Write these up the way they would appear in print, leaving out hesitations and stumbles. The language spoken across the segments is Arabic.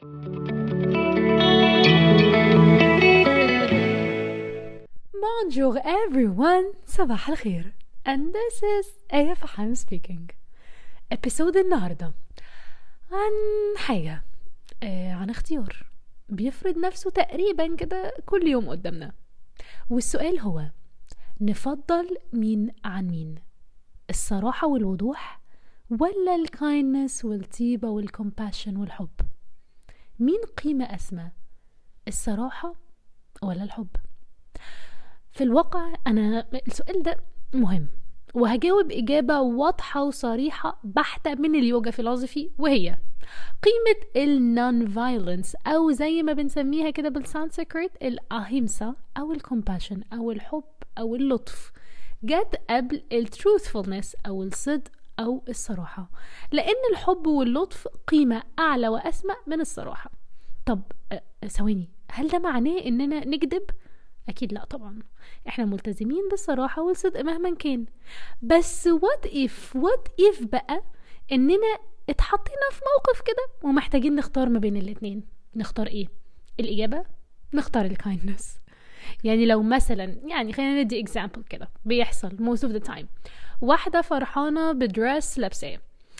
Bonjour everyone, صباح الخير. And this is آية فحام speaking. episode النهاردة عن حاجة عن اختيار بيفرض نفسه تقريبا كده كل يوم قدامنا، والسؤال هو نفضل مين عن مين؟ الصراحة والوضوح ولا الكايندنس والطيبة والكومباشن والحب؟ مين قيمة أسمى، الصراحة ولا الحب؟ في الواقع أنا السؤال ده مهم، وهجاوب إجابة واضحة وصريحة بحتة من اليوجا فيلوسفي، وهي قيمة النون فايلنس، أو زي ما بنسميها كده بالسانسكريت الأهيمسا أو الكومباشن أو الحب أو اللطف، جت قبل التروثفولنس أو الصدق أو الصراحة، لأن الحب واللطف قيمة أعلى وأسمى من الصراحة. طب ثواني، هل ده معناه إننا نكذب؟ أكيد لا طبعا، احنا ملتزمين بالصراحة والصدق مهما كان، بس what if بقى إننا اتحطينا في موقف كده ومحتاجين نختار ما بين الاتنين، نختار ايه؟ الإجابة نختار الكايندنس. يعني لو مثلا خلينا ندي example كده بيحصل most of the time، واحدة فرحانة بدرس لابساه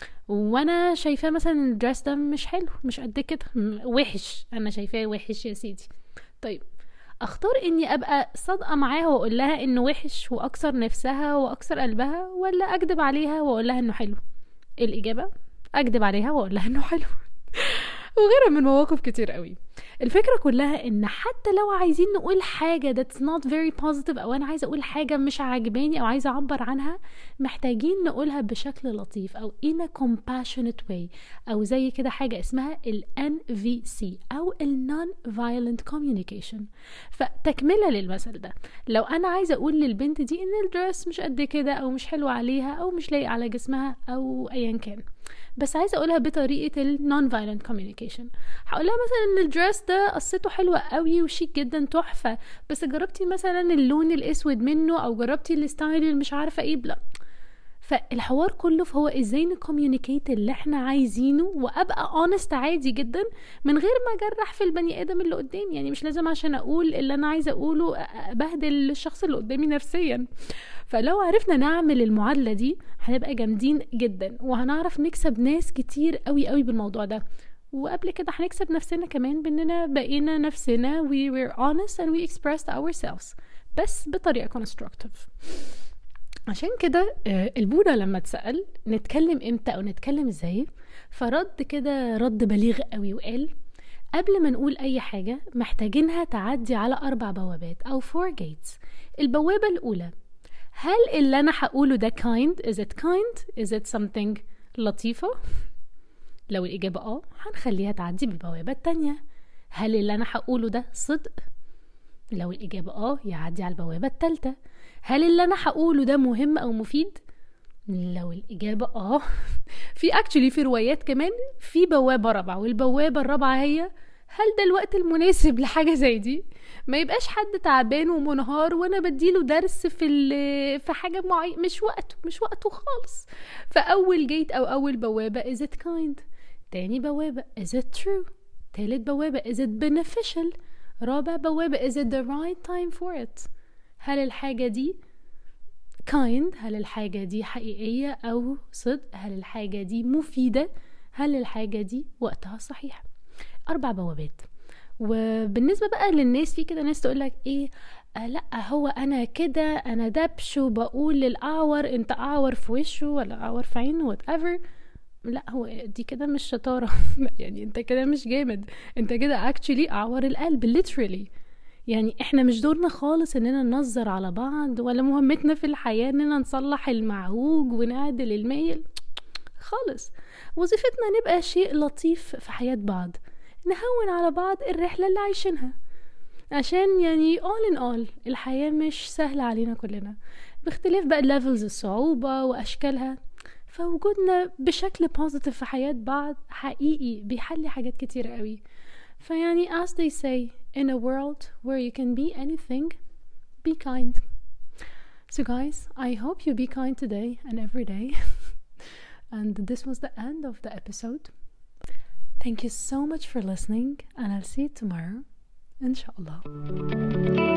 وانا شايفاه مثلا الدرس ده مش حلو، مش قد كده، وحش، انا شايفاه وحش يا سيدي. طيب اختار اني ابقى صادقة معاها واقول لها انه وحش واكسر نفسها واكسر قلبها، ولا اكدب عليها واقول لها انه حلو؟ الإجابة اكدب عليها واقول لها انه حلو. وغيرها من مواقف كتير قوي. الفكرة كلها ان حتى لو عايزين نقول حاجة that's not very positive، او انا عايزة اقول حاجة مش عاجباني او عايزة اعبر عنها، محتاجين نقولها بشكل لطيف او in a compassionate way، او زي كده حاجة اسمها ال NVC او ال non-violent communication. فتكملة للمثل ده، لو انا عايزة اقول للبنت دي ان الدرس مش قد كده او مش حلو عليها او مش لايق على جسمها او ايا كان، بس عايزه اقولها بطريقه النون فايلنت كوميونيكيشن، هقولها مثلا ان الدرس ده قصته حلوه قوي وشيك جدا تحفه، بس جربتي مثلا اللون الاسود منه او جربتي الستايل اللي مش عارفه ايه بلا. فالحوار كله فهو ازاي نكوميونيكيت اللي احنا عايزينه وابقى اونست عادي جدا من غير ما اجرح في البني ادم اللي قدامي. يعني مش لازم عشان اقول اللي انا عايزه اقوله ابهدل الشخص اللي قدامي نفسيا. فلو عرفنا نعمل المعادلة دي هنبقى جامدين جدا، وهنعرف نكسب ناس كتير قوي قوي بالموضوع ده، وقبل كده هنكسب نفسنا كمان باننا بقينا نفسنا we were honest and we expressed ourselves، بس بطريقة constructive. عشان كده البوذا لما اتسأل نتكلم امتى او نتكلم ازاي، فرد كده رد بليغ قوي وقال قبل ما نقول اي حاجة محتاجينها تعدي على 4 بوابات او 4 gates. البوابة الاولى، هل اللي أنا هقوله ده kind؟ is it kind؟ is it something لطيفة؟ لو الإجابة هنخليها تعدي بالبوابة التانية. هل اللي أنا هقوله ده صدق؟ لو الإجابة يعدي على البوابة التالتة. هل اللي أنا هقوله ده مهم أو مفيد؟ لو الإجابة في روايات كمان في بوابة رابعة، والبوابة الرابعة هي هل ده الوقت المناسب لحاجة زي دي؟ ما يبقاش حد تعبان ومنهار وانا بديله درس في حاجة معينة، مش وقته خالص. فاول جيت او اول بوابة is it kind، تاني بوابة is it true، تالت بوابة is it beneficial، رابع بوابة is it the right time for it. هل الحاجة دي kind، هل الحاجة دي حقيقية او صدق، هل الحاجة دي مفيدة، هل الحاجة دي وقتها صحيح. 4 بوابات. وبالنسبة بقى للناس، في كده ناس تقولك ايه لا هو انا كده انا دبش وبقول للأعور انت أعور في وشه ولا أعور في عينه whatever. لا، هو دي كده مش شطارة. يعني انت كده مش جامد، انت كده actually أعور القلب literally. يعني احنا مش دورنا خالص اننا ننظر على بعض، ولا مهمتنا في الحياة اننا نصلح المعوج ونعدل المايل خالص. وظيفتنا نبقى شيء لطيف في حياة بعض، نهون على بعض الرحلة اللي عايشينها، عشان all in all الحياة مش سهلة علينا كلنا، باختلاف بقى levels الصعوبة وأشكالها. فوجودنا بشكل positive في حياة بعض حقيقي بيحلي حاجات كتير قوي. فيعني as they say in a world where you can be anything, be kind. So guys, I hope you be kind today and every day. And this was the end of the episode. Thank you so much for listening and I'll see you tomorrow إن شاء الله.